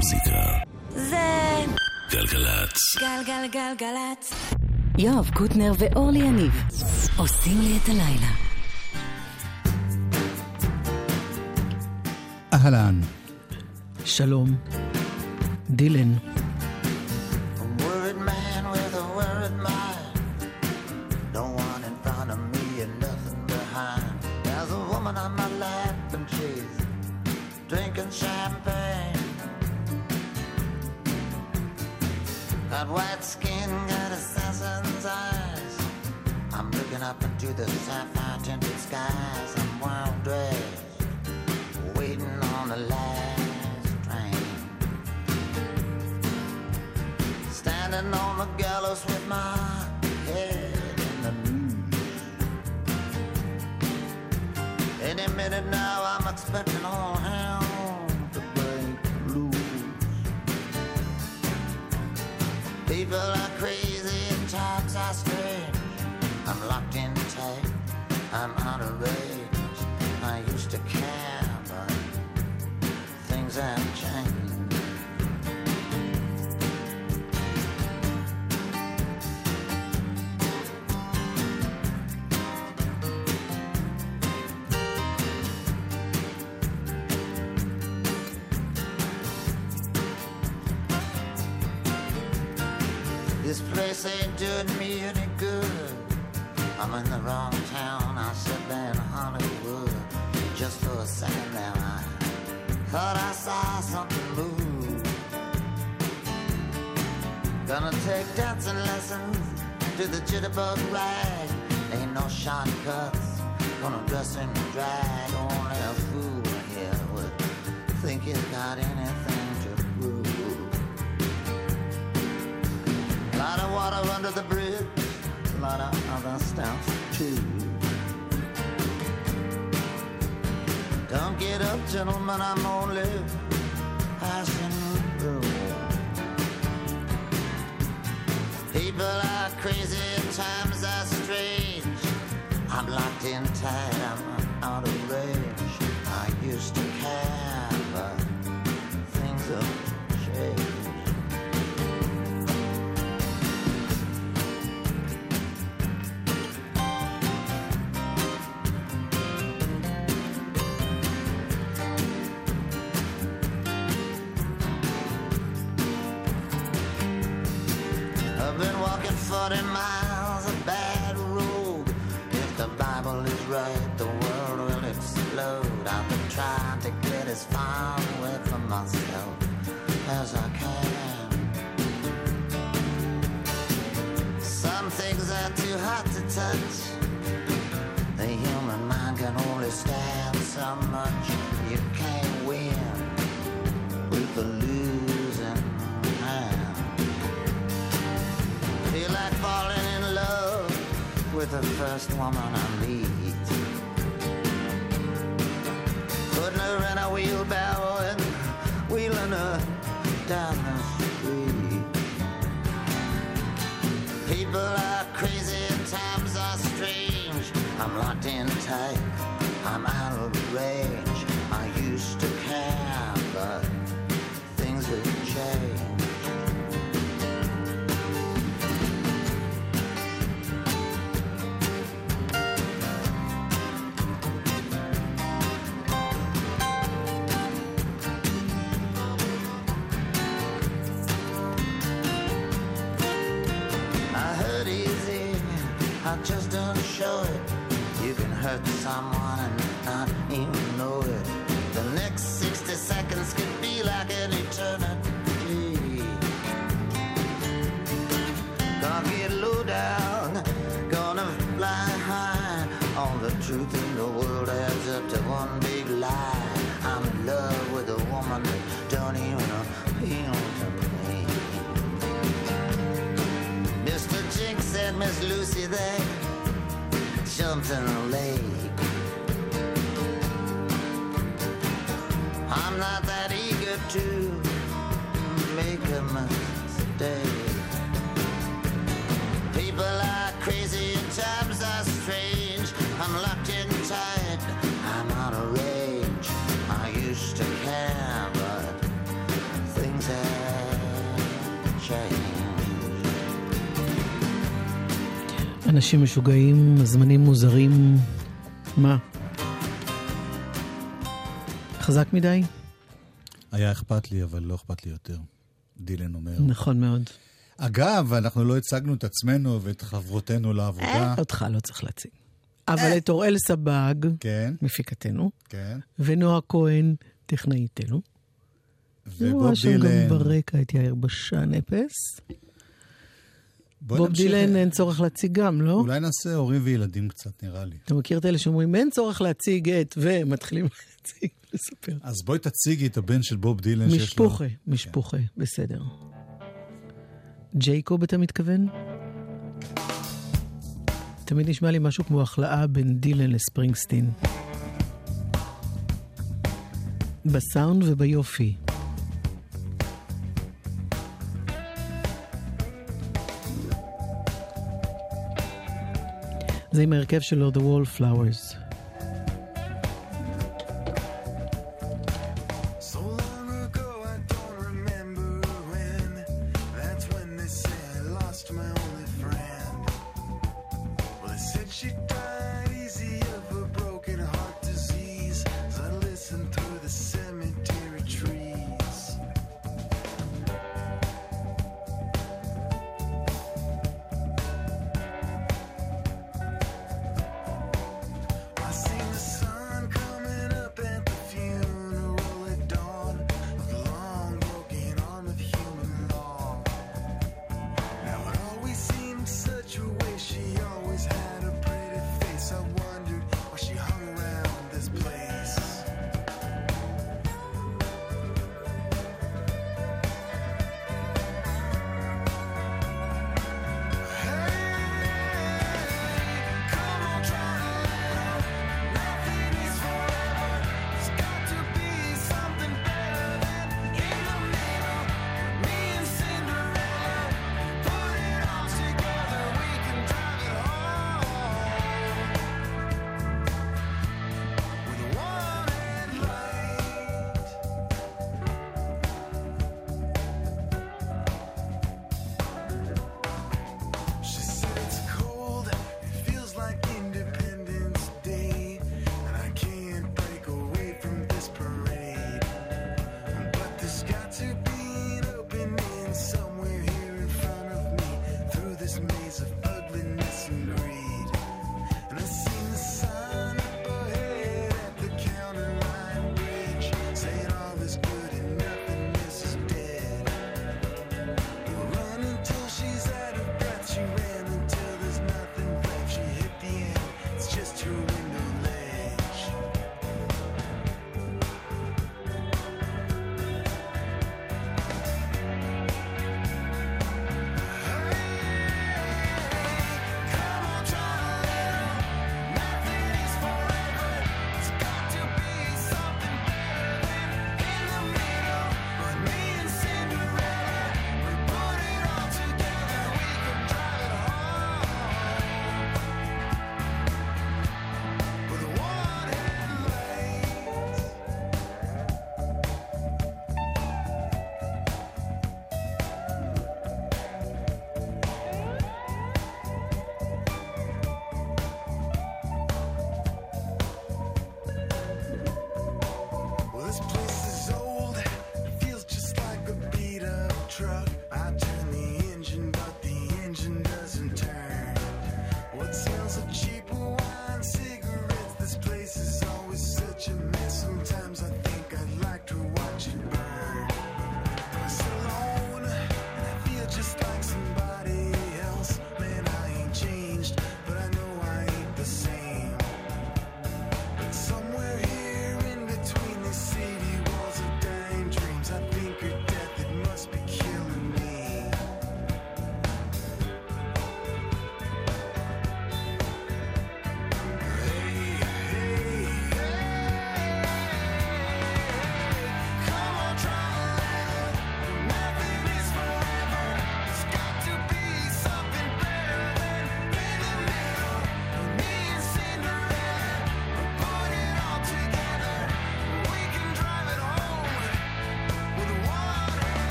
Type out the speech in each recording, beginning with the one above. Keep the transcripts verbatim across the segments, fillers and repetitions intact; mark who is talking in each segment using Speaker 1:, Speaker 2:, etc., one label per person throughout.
Speaker 1: המוזיקה
Speaker 2: זה
Speaker 1: גלגלצ.
Speaker 2: גלגלגלגלצ. יואב קוטנר ואורלי יניב עושים לי את הלילה.
Speaker 3: אהלן.
Speaker 4: שלום. דילן.
Speaker 5: On my lap and she's drinking champagne. Got white skin, got assassin's eyes. I'm looking up into the sapphire tinted skies. I'm wild dressed, waiting on the last train. Standing on the gallows with my head in the news. Any minute now I'm expecting all hell to break loose. People are crazy and times are strange. I'm locked in tight, I'm out of range. I used to care, but things have changed. This place ain't doing me any good. I'm in the wrong town, I should be in Hollywood. Just for a second there I thought I saw something move. Gonna take dancing lessons to the jitterbug rag. Ain't no shortcuts, gonna dress in drag. Only a fool here would think he's got anything to prove. A lot of water under the bridge, a lot of other stuff too. Don't get up, gentlemen, I'm only passing through. People are crazy and times are strange. I'm locked in tight, I'm out of range. I used to care, but things have changed. forty miles of bad road. If the Bible is right, the world will explode. I've been trying to get as far away from myself as I can. Some things are too hot to touch. The human mind can only stand so much. You can't win with the losing hand. Feel like falling in love with the first woman I meet. Putting her in a wheelbarrow and wheeling her down the street. People are crazy and times are strange. I'm locked in tight, I'm out of range. I used to care, but things have changed. I just don't show it. You can hurt someone and not even know it. The next sixty seconds could be like an eternity. Gonna get low down, gonna fly high. All the truth in the world adds up to one big lie. I'm in love with a woman that don't even appeal to me. Mister Jinx said Miss Lucy there jumped in a lake. I'm not that eager to make a mistake. People are crazy and times are strange. I'm locked in tight, I'm out of range. I used to care, but things
Speaker 4: אנשים משוגעים, זמנים מוזרים. מה? חזק מדי?
Speaker 1: היה אכפת לי, אבל לא אכפת לי יותר. דילן אומר.
Speaker 4: נכון מאוד.
Speaker 1: אגב, אנחנו לא הצגנו את עצמנו ואת חברותינו לעבודה.
Speaker 4: אותך לא צריך להציג. אבל את אוראל סבג,
Speaker 1: כן.
Speaker 4: מפיקתנו,
Speaker 1: כן.
Speaker 4: ונועה כהן, טכנאיתנו.
Speaker 1: ובוב דילן.
Speaker 4: גם ברקע את יאיר בשן אפס. בוב דילן אין צורך להציג גם, לא?
Speaker 1: אולי נעשה הורים וילדים קצת, נראה לי.
Speaker 4: אתה מכיר את אלה שאומרים, אין צורך להציג את, ומתחילים להציג, לספר.
Speaker 1: אז בואי תציגי את הבן של בוב דילן שיש לו.
Speaker 4: משפוחה, משפוחה, בסדר. ג'ייקוב אתה מתכוון? תמיד נשמע לי משהו כמו החלאה בין דילן לספרינגסטין. בסאונד וביופי. זה עם ההרכב שלו, The Wallflowers.
Speaker 3: I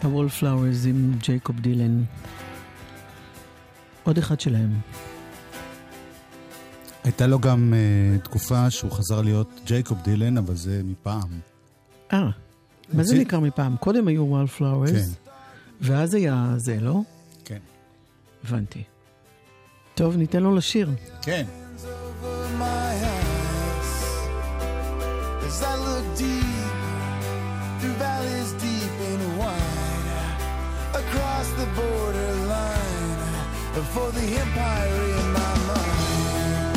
Speaker 4: ה-Wallflowers עם ג'ייקוב דילן. עוד אחד שלהם.
Speaker 1: הייתה לו גם uh, תקופה שהוא חזר להיות ג'ייקוב דילן, אבל זה מפעם.
Speaker 4: אה, מה זה נקרא מפעם? קודם היו Wallflowers,
Speaker 1: כן.
Speaker 4: ואז היה זה, לא?
Speaker 1: כן.
Speaker 4: הבנתי. טוב, ניתן לו לשיר.
Speaker 1: כן.
Speaker 3: As I look deep through valleys deep and wide, across the borderline for the empire in my mind.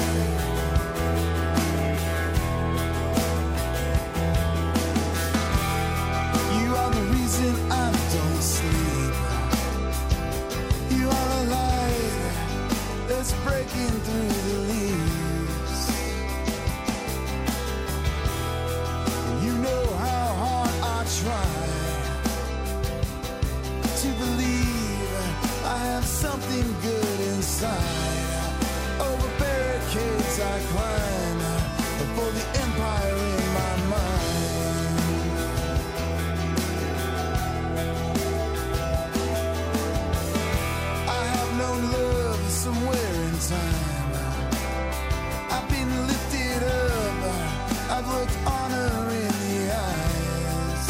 Speaker 3: You are the reason I don't sleep. You are a light that's breaking through the leaves. You know how hard I try to believe I have something good inside. Over barricades I climb for the empire in my mind. I have known love somewhere in time. I've been lifted up, I've looked honor in the eyes.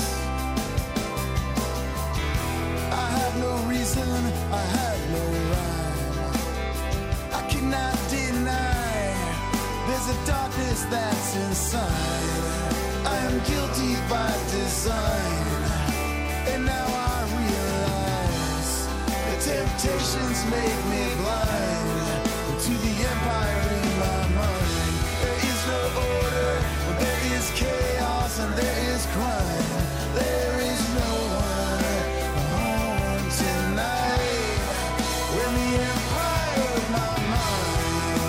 Speaker 3: I have no reason, I have no rhyme. I cannot deny there's a darkness that's inside. I am guilty by design, and now I realize the temptations make me blind to the empire in my mind. There is no order, there is chaos, and there is crime. There is no one home tonight when the empire of my mind.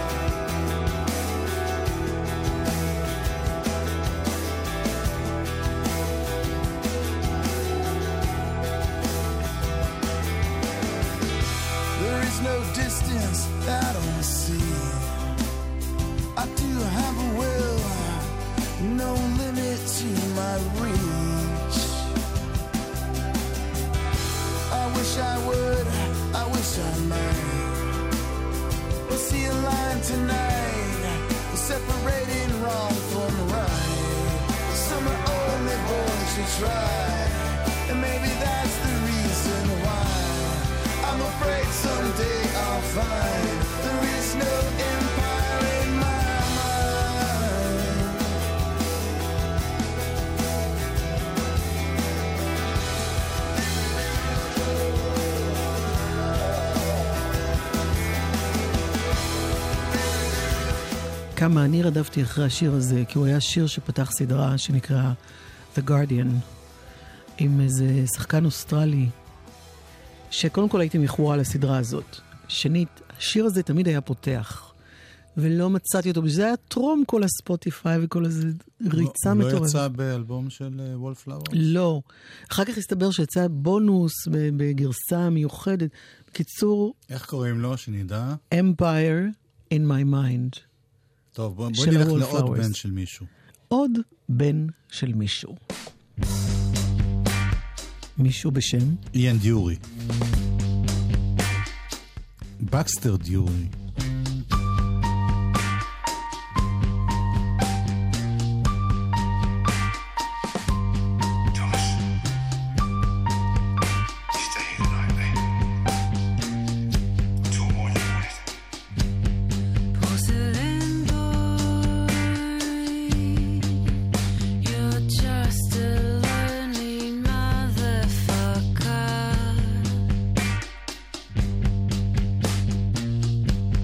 Speaker 3: There is no distance that I don't see. I do have a will, no limit to my reach. I wish I would, I wish I might. We'll see a line tonight, separating wrong from right. Some are only born to try, and maybe that's the reason why. I'm afraid someday I'll find there is no empire in my mind.
Speaker 4: כמה אני רדפתי אחרי השיר הזה, כי הוא היה שיר שפתח סדרה שנקרא The Guardian, עם איזה שחקן אוסטרלי, שקודם כל הייתי מכורה לסדרה הזאת. שנית, השיר הזה תמיד היה פותח, ולא מצאתי אותו, וזה היה טרום כל הספוטיפיי וכל איזה ריצה מטורפת.
Speaker 1: הוא לא יצא באלבום של וולפלאוורס?
Speaker 4: לא. אחר כך הסתבר שיצא בונוס בגרסה מיוחדת. בקיצור...
Speaker 1: איך קוראים לו, שנדע?
Speaker 4: Empire in my mind.
Speaker 1: טוב, בוא, בוא נלך לעוד בן של מישהו.
Speaker 4: עוד בן של מישהו. מישהו בשם?
Speaker 1: איאן דיורי. בקסטר דיורי.
Speaker 6: You're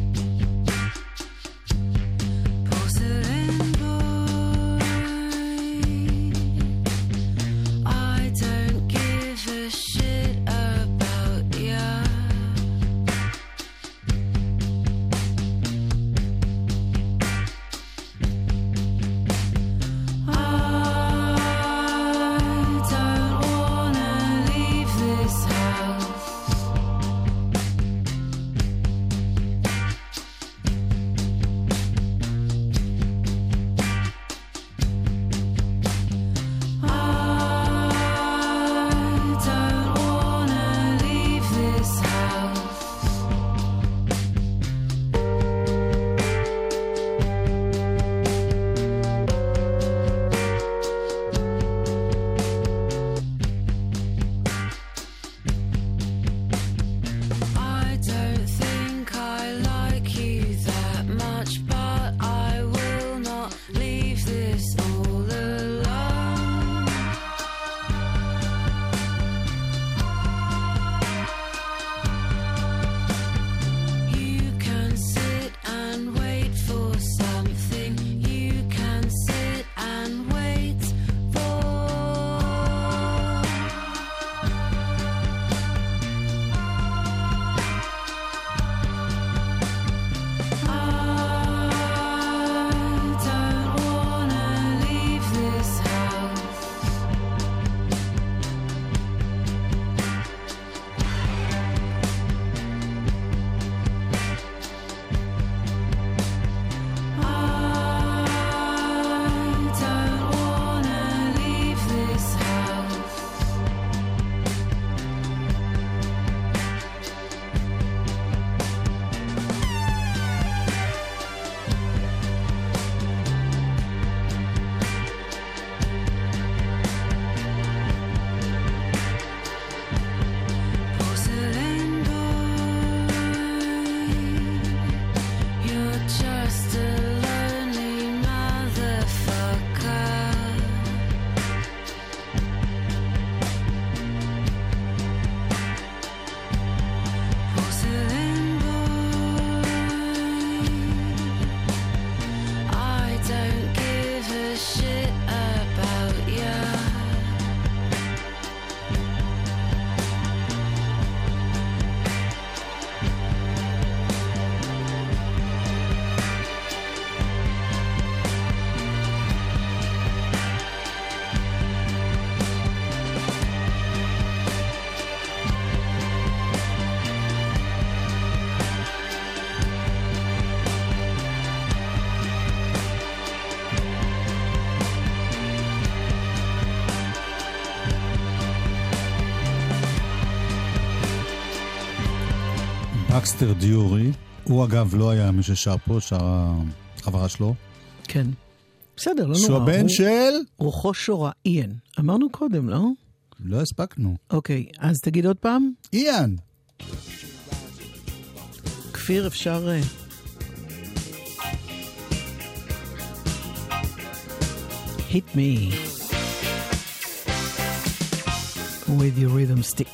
Speaker 1: בקסטר דיורי, הוא אגב לא היה מי ששר פה, שר החברה שלו.
Speaker 4: כן. בסדר, לא נורא.
Speaker 1: שהוא הבן
Speaker 4: הוא...
Speaker 1: של?
Speaker 4: רוחו שורה, איין. אמרנו קודם, לא?
Speaker 1: לא הספקנו.
Speaker 4: אוקיי, אז תגיד עוד פעם.
Speaker 1: איין.
Speaker 4: כפיר, אפשר... Hit me with your rhythm stick.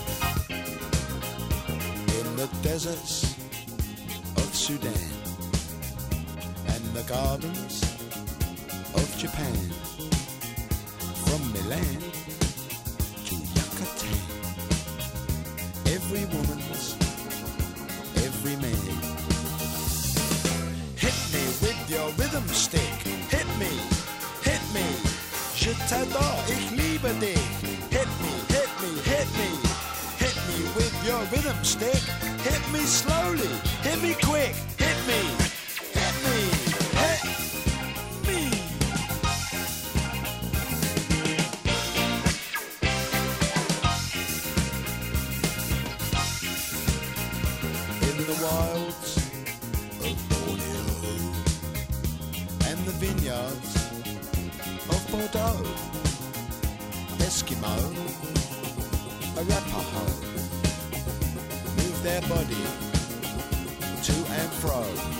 Speaker 3: In the deserts of Sudan and the gardens of Japan, from Milan to Yucatan, every woman's, every man. Hit me with your rhythm stick, hit me, hit me, je t'adore, ich liebe dich. Hit me, hit me, hit me, hit me with your rhythm stick. Hit me slowly, hit me quick, hit me, hit me, hit me. In the wilds of Borneo and the vineyards of Bordeaux, Eskimo, Arapaho, move their body to and fro.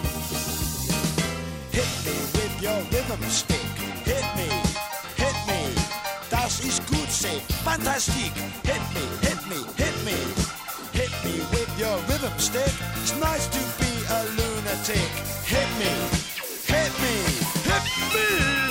Speaker 3: Hit me with your rhythm stick, hit me, hit me, das ist gut, say, fantastic. Hit me, hit me, hit me, hit me with your rhythm stick. It's nice to be a lunatic. Hit me, hit me, hit me.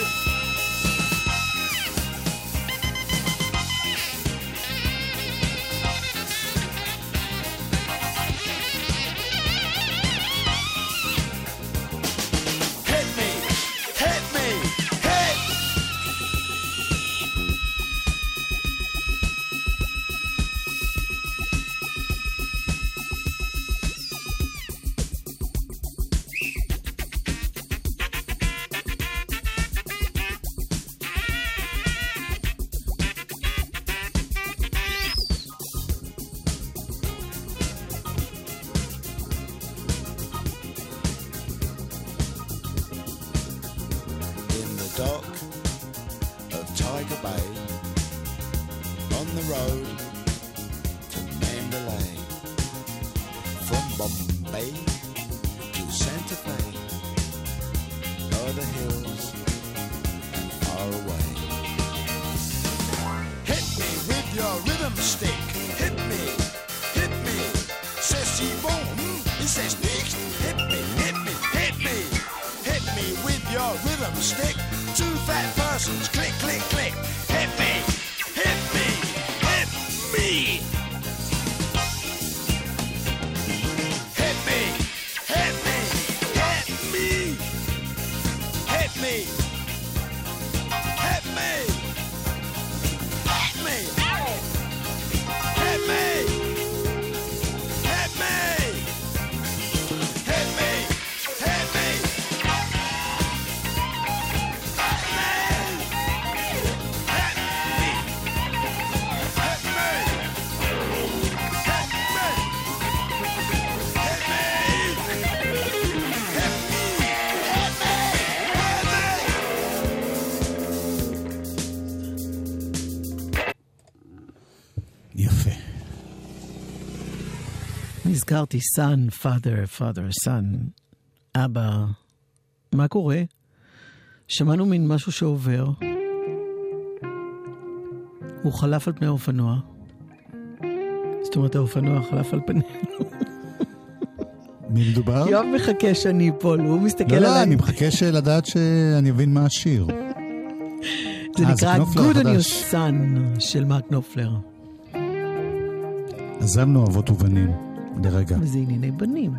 Speaker 3: Dock of Tiger Bay, on the road to Mandalay, from Bombay to Santa Fe, o'er the hills and far away. Hit me with your rhythm stick, hit me, hit me, c'est si bon, it's es nicht, hit me, hit me, hit me, hit me with your rhythm stick. Two fat persons, click, click, click. Hit me, hit me, hit me. Hit me, hit me, hit me. Hit me, hit me, hit me. Hit me, hit me, hit me, hit me.
Speaker 4: נזכרתי, son, father, father, son, אבא. מה קורה? שמענו מין משהו שעובר. הוא חלף על פני האופנוע. זאת אומרת, האופנוע חלף על פנינו.
Speaker 1: מי מדובר?
Speaker 4: יואב מחכה שאני אפול, הוא מסתכל עליי.
Speaker 1: לא, לא, אני מחכה לדעת שאני אבין מה השיר.
Speaker 4: זה נקרא Good on Your Son של מרק נופלר.
Speaker 1: עזבנו אבות ובנים. לרגע.
Speaker 4: וזה ענייני בנים.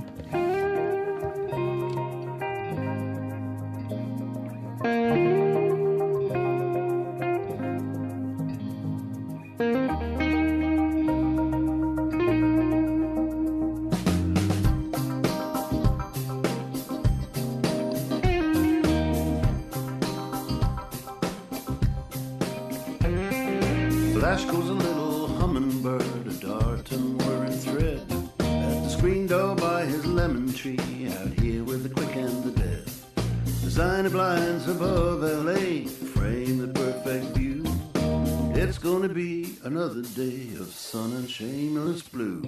Speaker 6: Flash goes a little hummingbird, a dart and whirring thread. At the screen go by his lemon tree out here with the quick and the dead. Designer blinds above L A frame the perfect view. It's gonna be another day of sun and shameless blue.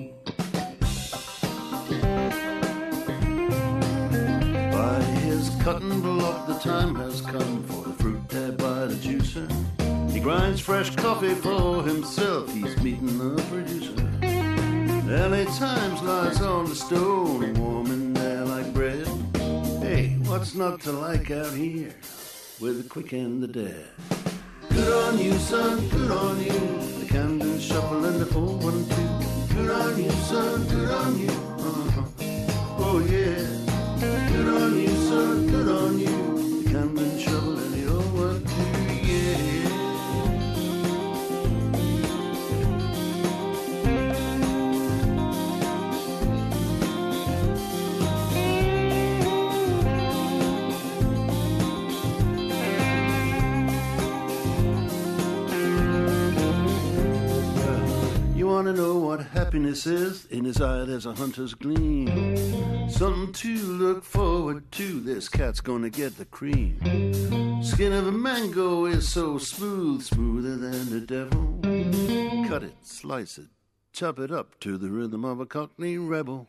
Speaker 6: By his cutting block the time has come for the fruit there by the juicer. He grinds fresh coffee for himself, he's meeting the producer. L A Times lies on the stone, warm in there like bread. Hey, what's not to like out here with the quick and the dead? Good on you, son, good on you. The Camden Shuffle and the four one two. Good on you, son, good on you. Uh-huh. Oh yeah. Good on you, son, good on you. The Camden Shuffle and the four one two, yeah. Want to know what happiness is? In his eye there's a hunter's gleam. Something to look forward to. This cat's gonna get the cream. Skin of a mango is so smooth, smoother than the devil. Cut it, slice it, chop it up to the rhythm of a Cockney rebel.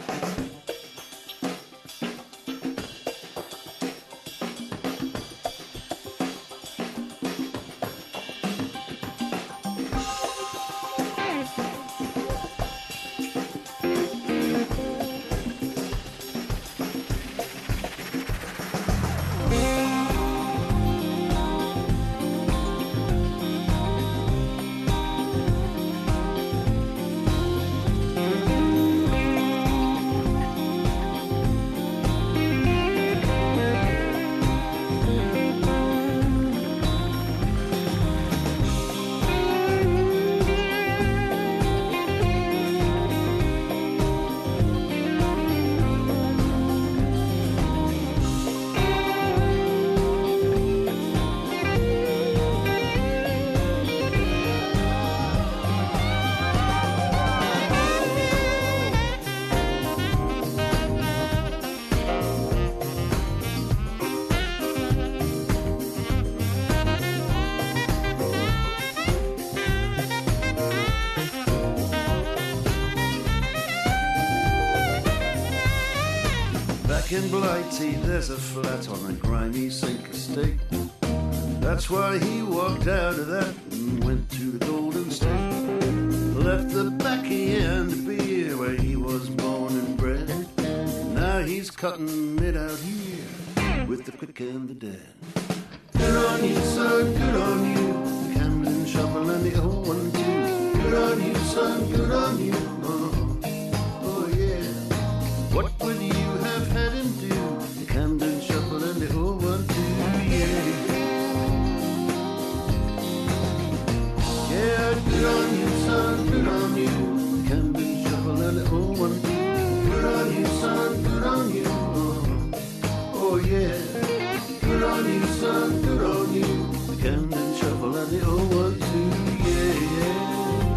Speaker 6: In Blighty, there's a flat on a grimy sink estate. That's why he walked out of that and went to the Golden State. Left the backy and the beer where he was born and bred. Now he's cutting it out here with the quick and the dead. Good on you, son, good on you. The Camden Shuffle and the old one too. Good on you, son, good on you. Oh, oh yeah. What would you have had him do? The Camden Shuffle and the old one too, yeah. Yeah, good on you, son, good on you. The Camden Shuffle and the old one too. Good on you, son, good on you. Oh, oh yeah. Good on you, son, good on you. The Camden Shuffle and the old one too, yeah, yeah.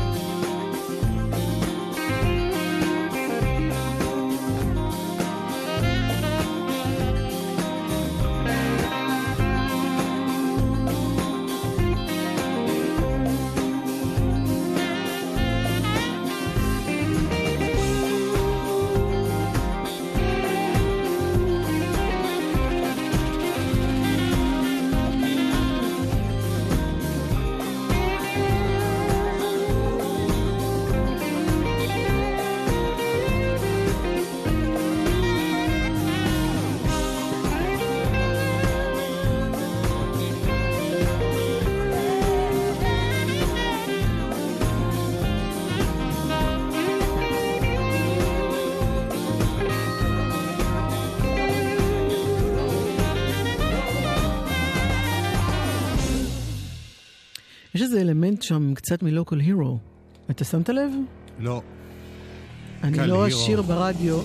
Speaker 4: יש איזה אלמנט שם קצת מלוקל הירו. אתה שמת לב?
Speaker 1: לא.
Speaker 4: אני לא אשיר ברדיו.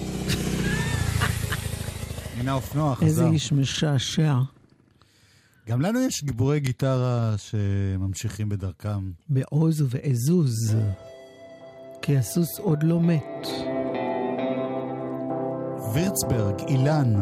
Speaker 1: הנה האופנוע חזר.
Speaker 4: איזה איש משעשע.
Speaker 1: גם לנו יש גיבורי גיטרה שממשיכים בדרכם.
Speaker 4: בעוז ובעזוז. כי הסוס עוד לא מת.
Speaker 1: וירצברג, אילן.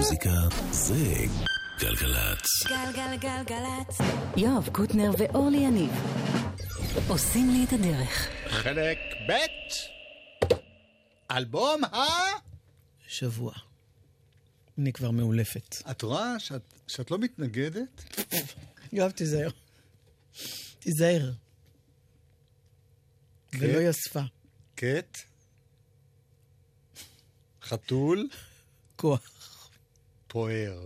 Speaker 7: מוזיקה זה גלגלצ.
Speaker 2: גלגלגלגלצ. יואב קוטנר ואורלי יניב עושים לי את הדרך.
Speaker 1: חלק ב' אלבום ה...
Speaker 4: שבוע. אני כבר מאולפת.
Speaker 1: את רואה שאת, שאת לא מתנגדת?
Speaker 4: יואב, תיזהר. תיזהר. ולא יספה.
Speaker 1: קט. חתול.
Speaker 4: כוח.
Speaker 1: פוער.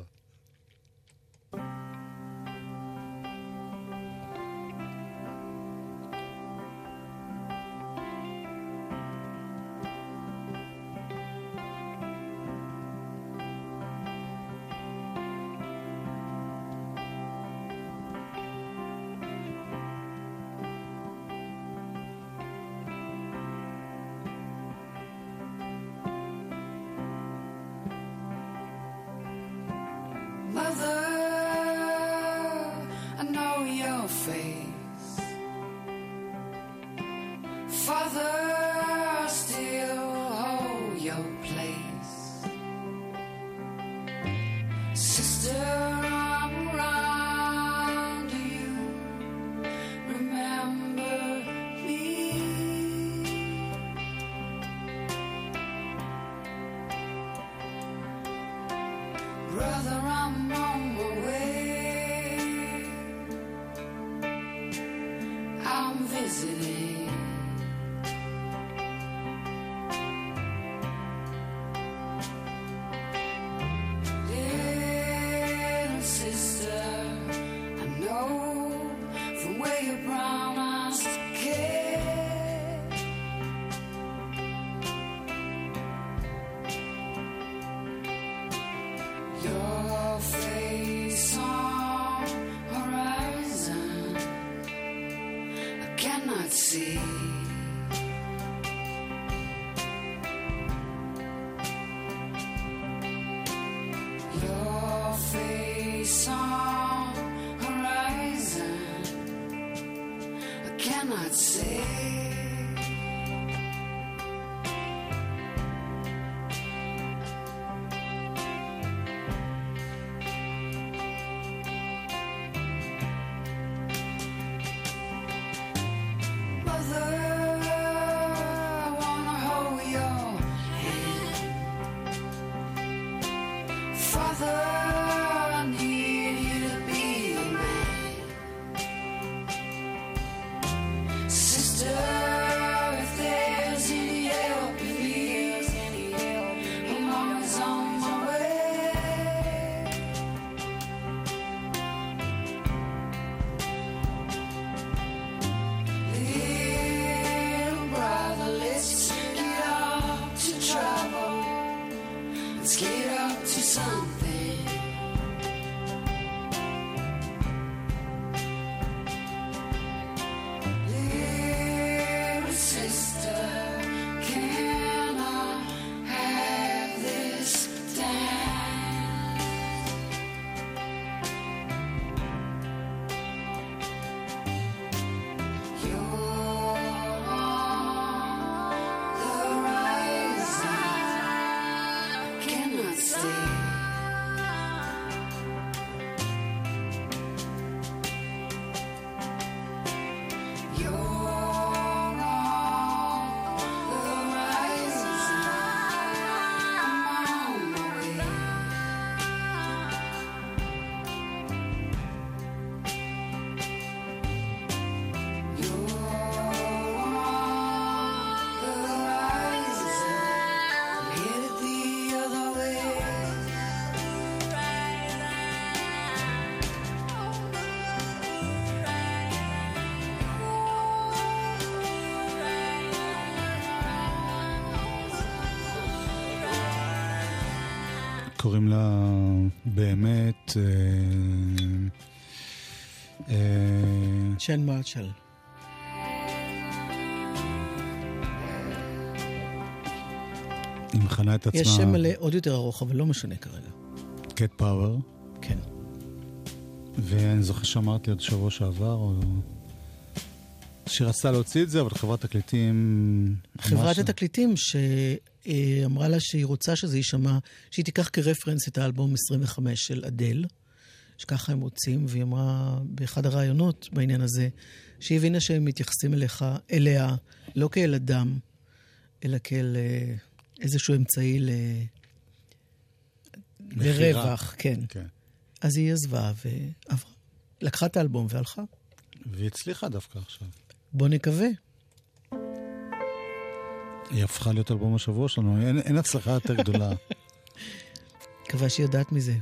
Speaker 1: קוראים לה באמת
Speaker 4: שן מרשל.
Speaker 1: היא מכנה את עצמה...
Speaker 4: יש שם מלא עוד יותר ארוך, אבל לא משנה כרגע.
Speaker 1: קט פאוור.
Speaker 4: כן.
Speaker 1: ואני זוכר שאמרתי עוד שבוע שעבר, או... שהיא רצתה להוציא את זה, אבל חברת תקליטים...
Speaker 4: חברת התקליטים ש... היא אמרה לה שהיא רוצה שזה יישמע, שהיא תיקח כרפרנס את האלבום עשרים וחמש של אדל, שככה הם רוצים, והיא אמרה באחד הרעיונות בעניין הזה, שהיא הבינה שהם מתייחסים אליך, אליה, לא כאל אדם, אלא כאל איזשהו אמצעי ל... לרווח, כן. כן. אז היא עזבה ועברה. לקחה את האלבום והלכה.
Speaker 1: והיא הצליחה דווקא עכשיו.
Speaker 4: בוא נקווה.
Speaker 1: היא הפכה להיות אלבום השבוע שלנו, אין, אין הצלחה יותר גדולה.
Speaker 4: מקווה שהיא יודעת מזה.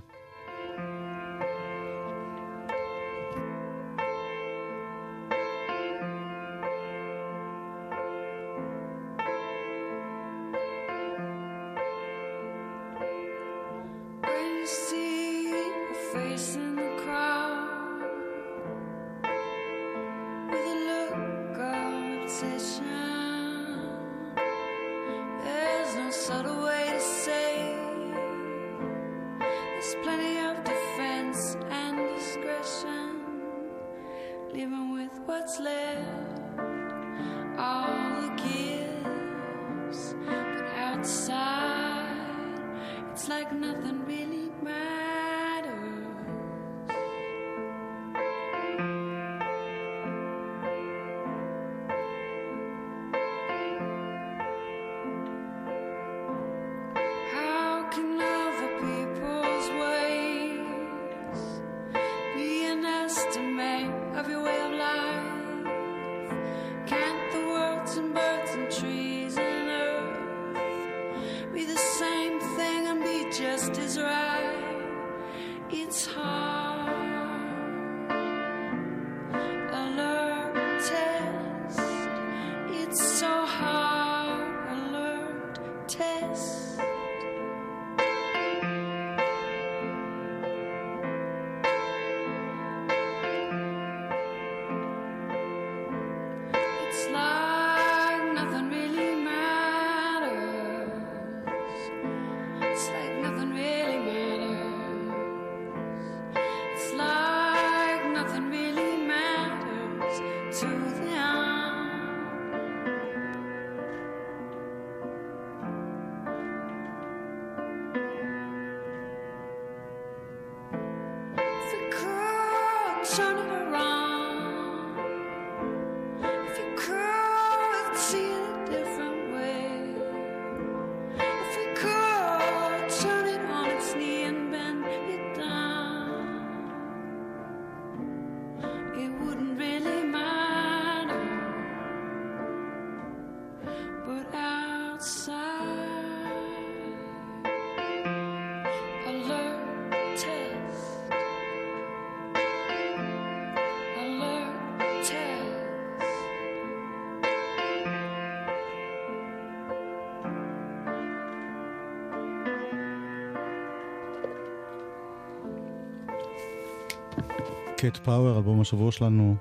Speaker 1: קט פאוור, אלבום השבוע שלנו,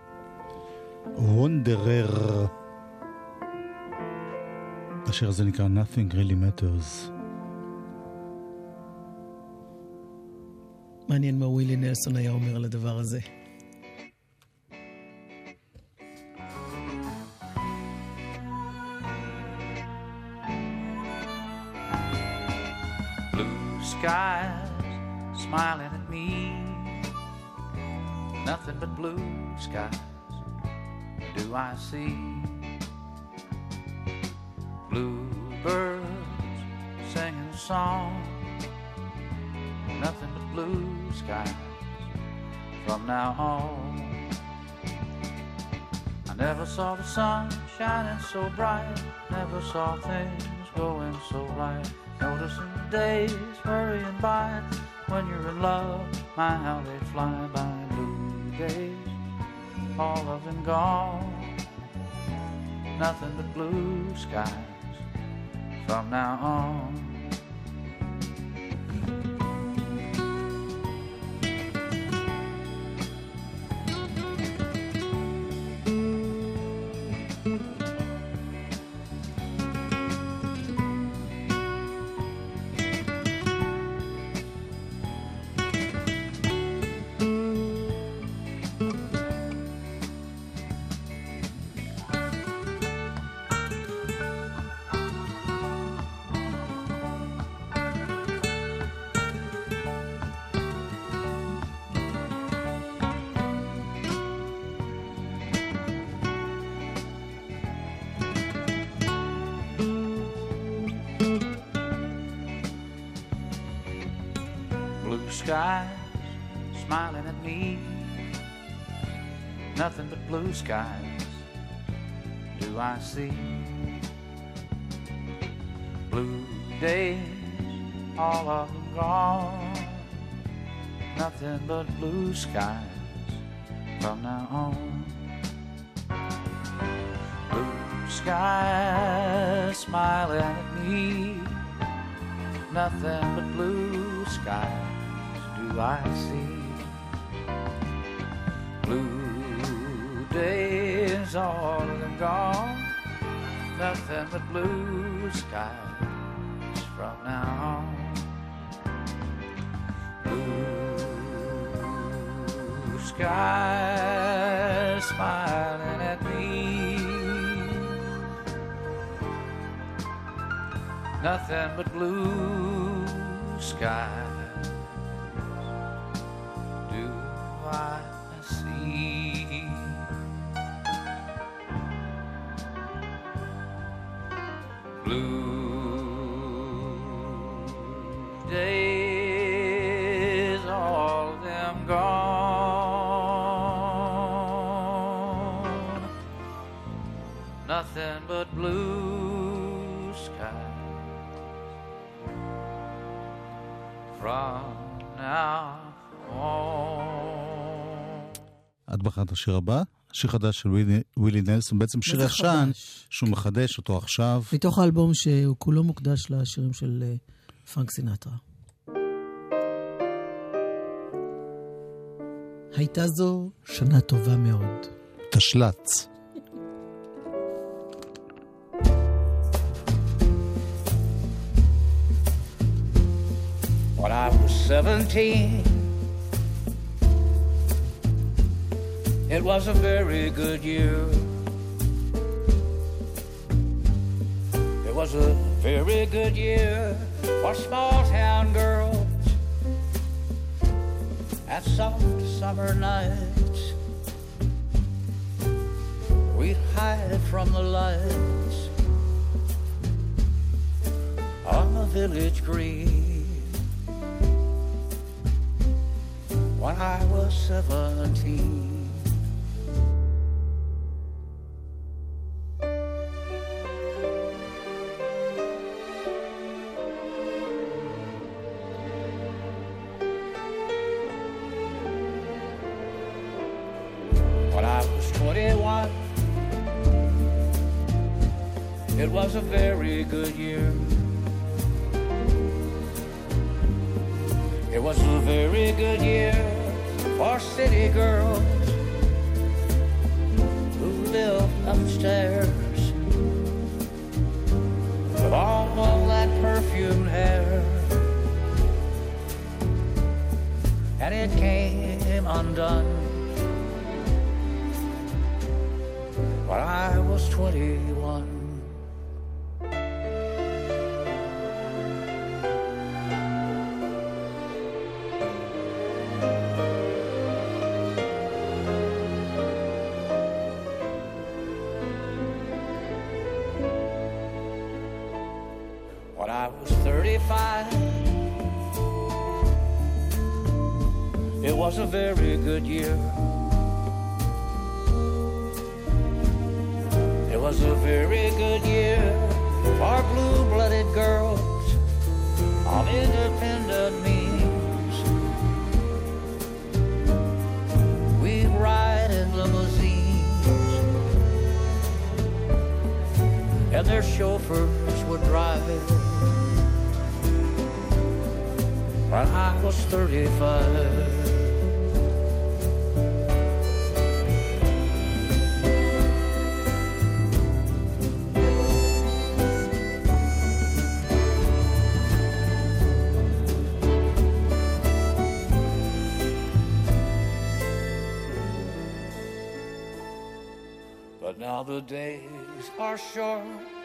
Speaker 1: וונדרר. השיר הזה נקרא Nothing Really Matters.
Speaker 4: מעניין מה ווילי נלסון היה אומר על הדבר הזה.
Speaker 8: Blue skies smiling at me, nothing but blue skies do I see. Bluebirds singing a song, nothing but blue skies from now on. I never saw the sun shining so bright, never saw things going so right. Noticing the days hurrying by, when you're in love, my how they fly by. Blue days, all of them gone, nothing but blue skies from now on. skies smiling at me. Nothing but blue skies do I see. Blue days, all of them gone. Nothing but blue skies from now on. Blue skies smiling at me. Nothing but blue skies do I see. Blue days, all of them gone. Nothing but blue skies from now on. Blue skies smiling at me. Nothing but blue skies do I see. Blue days, all of them gone. Nothing but blue skies from now on.
Speaker 1: את בחרת את השיר הבא? שיר חדש של ווילי, ווילי נלסון, בעצם שיר ישן שהוא מחדש אותו עכשיו.
Speaker 4: מתוך האלבום שהוא כולו מוקדש לשירים של uh, פרנק סינטרה. הייתה זו שנה טובה מאוד.
Speaker 1: תשלץ.
Speaker 8: When I was seventeen, it was a very good year. It was a very good year for small town girls and soft summer nights. We'd hide from the lights on the village green. When I was seventeen, twenty-one, it was a very good year. It was a very good year for city girls who lived upstairs with all that perfumed hair. And it came undone when I was twenty-one. When I was thirty-five, it was a very good year. It was a very good year for blue-blooded girls of independent means. We'd ride in limousines, and their chauffeurs would drive. When I was thirty-five, but now the days are short.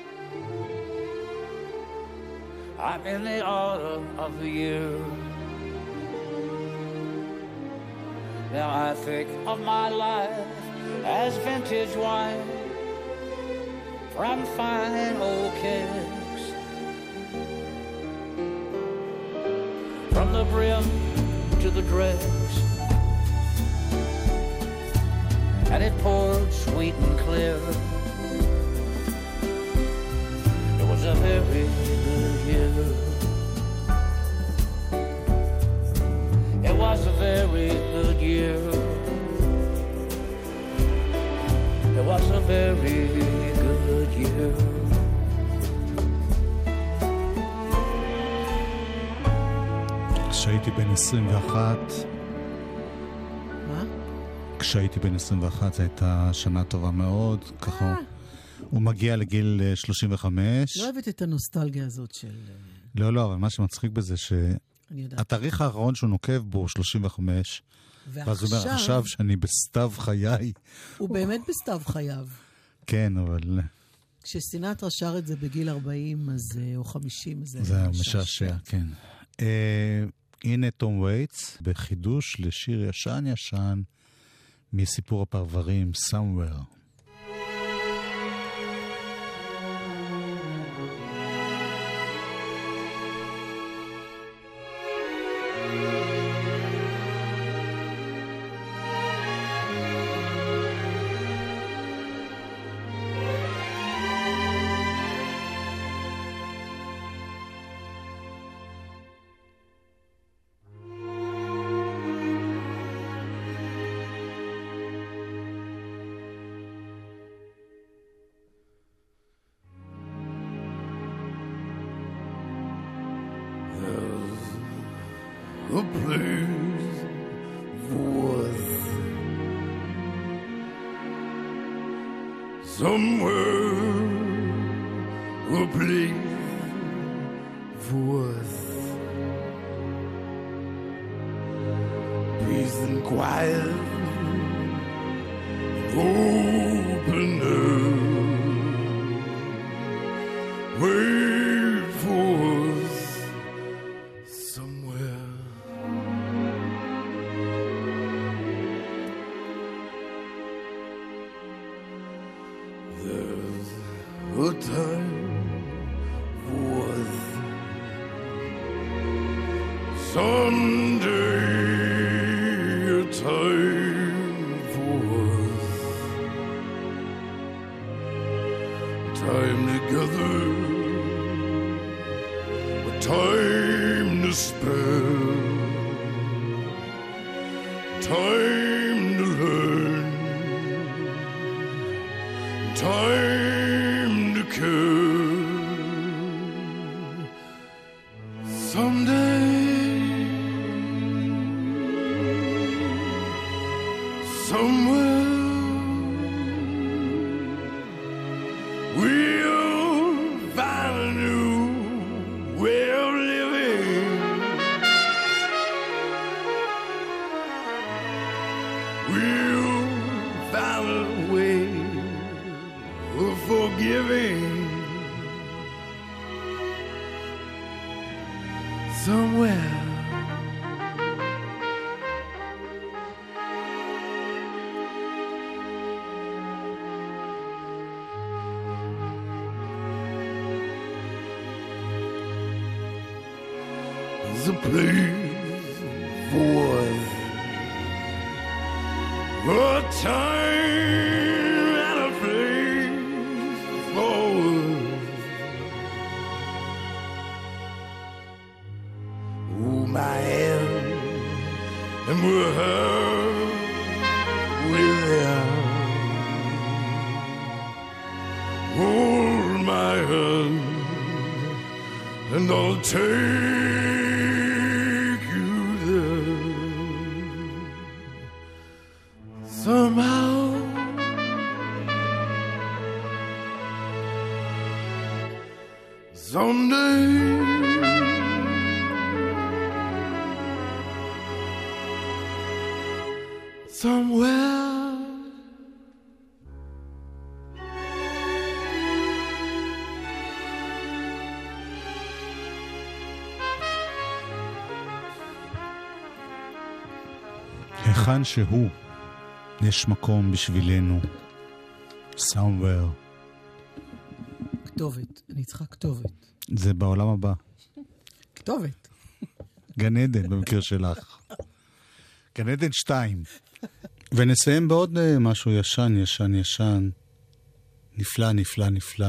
Speaker 8: I'm in the autumn of the year. Now I think of my life as vintage wine from fine old kegs. From the brim to the dregs, and it poured sweet and clear. It was a very good year. It was a very good year. It was a very good year.
Speaker 1: כשהייתי בן עשרים ואחת,
Speaker 4: מה?
Speaker 1: כשהייתי בן עשרים ואחת זו הייתה שנה טובה מאוד, ככה הוא מגיע לגיל שלושים וחמש.
Speaker 4: לא אוהבת את הנוסטלגיה הזאת של...
Speaker 1: לא, לא, אבל מה שמצחיק בזה שהתאריך האחרון שהוא נוקב בו הוא שלושים וחמש, ואז הוא אומר עכשיו שאני בסתיו חיי.
Speaker 4: הוא באמת בסתיו חייו.
Speaker 1: כן, אבל...
Speaker 4: כשסינטרה שר את זה בגיל ארבעים אז, או חמישים, אז
Speaker 1: זה משעשע, כן. הנה תום וייטס בחידוש לשיר ישן ישן מסיפור הפרברים Somewhere.
Speaker 6: A place worth somewhere, a place worth peace and quiet, open air. Wait for us somewhere. There's a time worth someday, a time for us, time together, a time to spare, time to learn, time to care. Someday, somewhere, we'll find a new way of living. We'll find a way of forgiving. Somewhere. There's a place for us, a time and a place for us. Hold my hand and we'll have without. Hold my hand and I'll take you there. Somehow someday somewhere.
Speaker 1: היכן שהוא, יש מקום בשבילנו. Somewhere.
Speaker 4: כתובת, אני צריכה כתובת.
Speaker 1: זה בעולם הבא.
Speaker 4: כתובת.
Speaker 1: גן עדן במקרה שלך. גן עדן שתיים. ונסיים בעוד uh, משהו ישן, ישן, ישן. נפלא, נפלא, נפלא.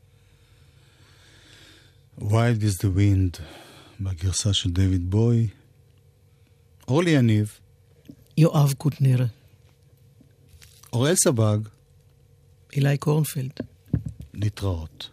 Speaker 1: Wild is the Wind, בגרסה של דיוויד בוי. אורלי יניב.
Speaker 4: יואב קוטנר.
Speaker 1: אוראל סבג.
Speaker 4: אילי קורנפלד.
Speaker 1: להתראות.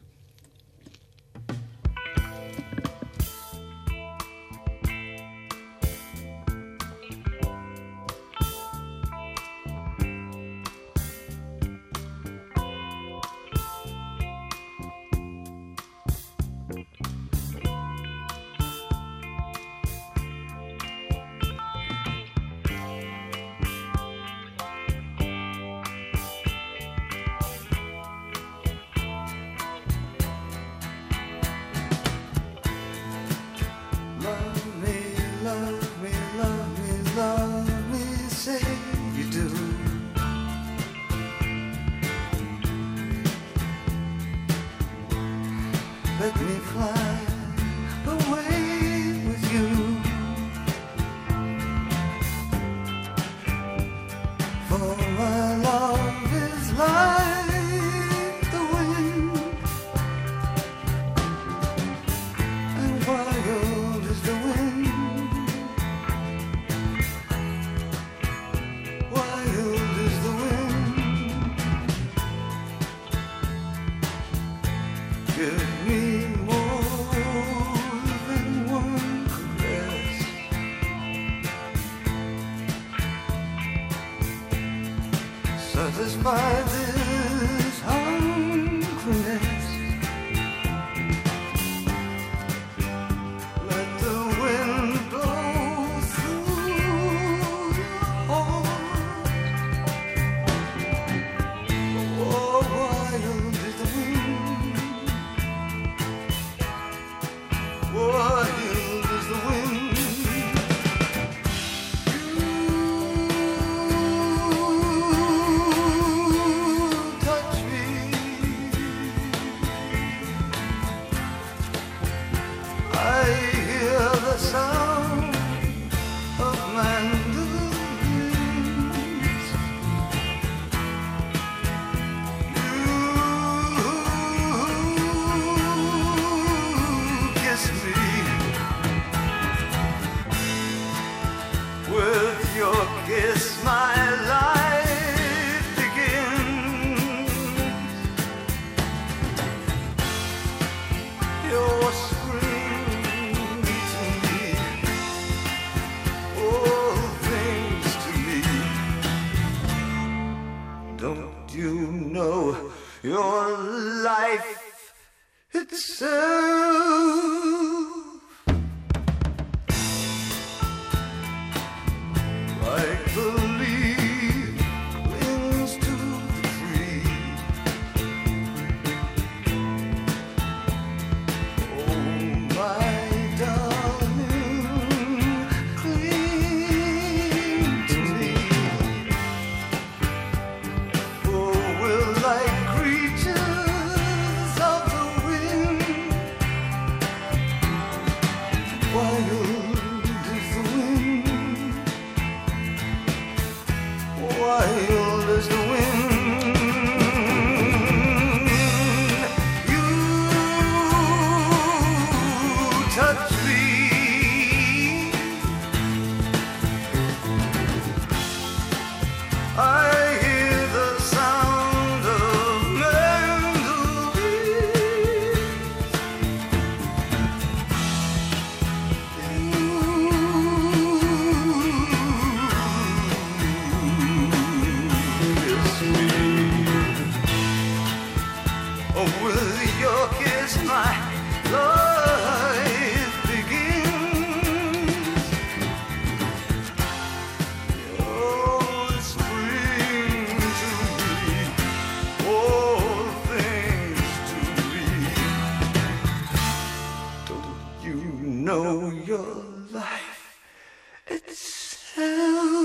Speaker 3: Let me fly away with you. For my love is like the wind, and wild is the wind. Wild is the wind. Give me satisfy this hungriness. Let the wind blow through your heart. Oh, wild is the wind. Wild is the wind. Your life itself, like the leaf clings to the tree. Oh, my darling, cling to me. Oh, will I wild as the wind. You touch me, I hear the sound of mandolins. With your kiss my life begins. Oh, spring to me, all things to me. Don't you know your life itself?